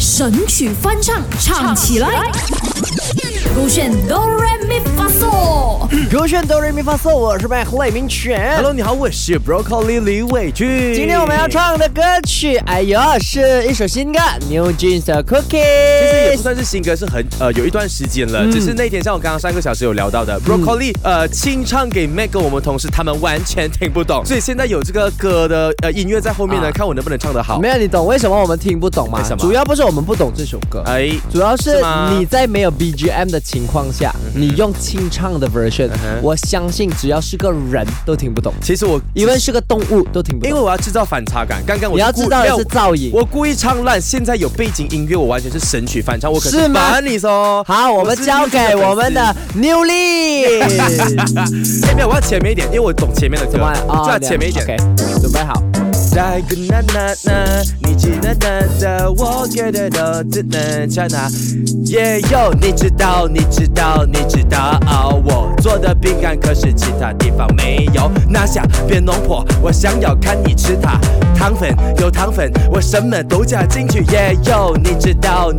神曲翻唱，唱起来。勾选哆来咪发嗦， 勾选哆来咪发嗦，我是赖明全。 Hello， 你好，我是 Broccoli 李伟俊。 今天我们要唱的歌曲，哎呦，是一首新歌 New Jeans 的 Cookies。 其实也不算是新歌，是有一段时间了。只是那天像我刚刚上个小时有聊到的，Broccoli 清唱给 Meg 跟我们同事，他们完全听不懂，所以现在有这个歌的音乐在后面呢，看我能不能唱得好。 没有，你懂为什么我们听不懂吗？主要不是我们不懂这首歌，主要是你在没有 BGM 的情况下，你用清唱的 version，我相信只要是个人都听不懂。 其实我因为是个动物都听不懂， 因为我要制造反差感。刚刚你要知道的是噪音， 我故意唱烂，现在有背景音乐，我完全是神曲翻唱，我可是把你说。 好，我们交给我们的 Newly。 没有，我要前面一点，因为我懂前面的歌，就要前面一点。 OK， 准备好。 再个那你记得的，我觉得都只能唱那。也有你知道，我做的饼干可是其他地方没有。拿下别弄破，我想要看你吃它。糖粉有糖粉，我什么都加进去。也有你知道，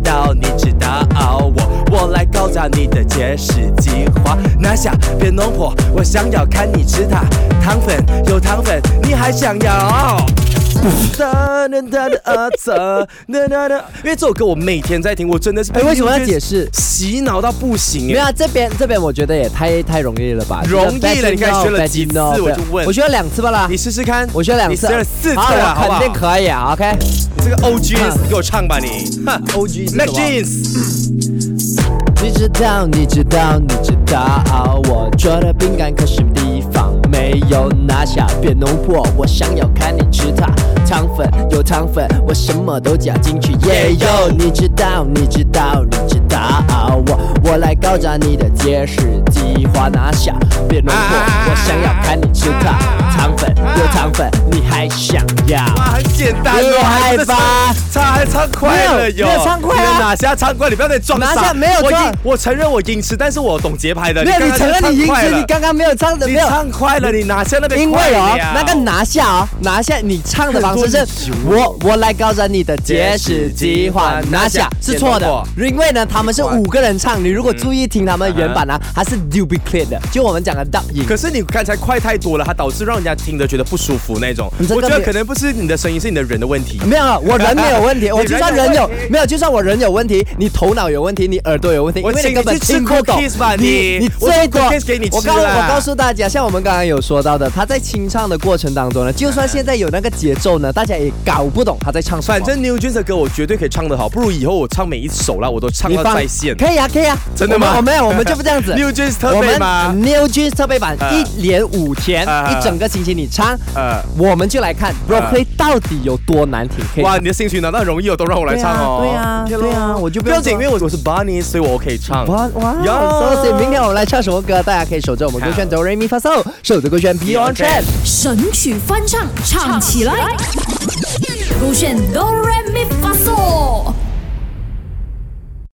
我来搞砸你的节食计划。拿下别弄破，我想要看你吃它。糖粉有糖粉，你还想要？因为这首歌我每天在听，我真的是为什么要解释？ 洗脑到不行。 没有，这边我觉得也太容易了吧？ 容易了，你看学了几次我就问， 我学了2次吧啦。 你试试看， 我学了2次， 你学了4次了，好不好？ 肯定可以啊 ，OK。 你这个 OG， 你给我唱吧你。 OG 是 Mac Jeans。 你知道，我做的饼干可是地方没有。拿下别弄破，我想要看你吃它。糖粉有糖粉，我什么都加进去。也有你知道，我来搞砸你的节食计划。拿下别弄破，我想要看你吃它。糖粉有糖粉，你还想要？ 哇，很简单厉害吧？ 还唱快了哟！ 没有唱快啊！ 拿下唱快，你不要再装傻。 拿下没有唱， 我承认我音痴，但是我懂节拍的。 没有，你承认你音痴，你刚刚没有唱的，没有唱快了，你拿下那边。 因为那个拿下你唱的方式是我来搞砸你的节食计划。拿下是错的，因为呢他们是5个人唱，你如果注意听他们原版呢，还是 duplicate 的，就我们讲的 dub 音。 可是你刚才快太多了，它导致让人家听着觉得不舒服那种。我觉得可能不是你的声音，是你的人的问题。 没有，我人没有问题，我就算人有没有，就算我人有问题，你头脑有问题，你耳朵有问题，因为你根本听不懂。你最多我告诉大家，像我们刚刚有说到的，他在清唱的过程当中呢，就算现在有那个节奏呢，大家也搞不懂他在唱什么。 反正 New Jeans 的歌我绝对可以唱得好，不如以后我唱每一首啦，我都唱到在线。 可以啊， 真的吗？ 我们就不这样子。 New Jeans 特备吗？ New Jeans 特备版，1连5天，一整个星期你唱，我们就来看 Broccoli 到底有多难听。 哇，你的兴趣难道容易都让我来唱哦？ 对啊，我就不要紧，因为我是 Bunny， 所以我可以唱。 哇，所以明天我们来唱什么歌？大家可以守着我们勾选哆来咪发嗦，守着勾选 Be On Trend， 神曲翻唱，唱起来。勾选哆来咪发嗦。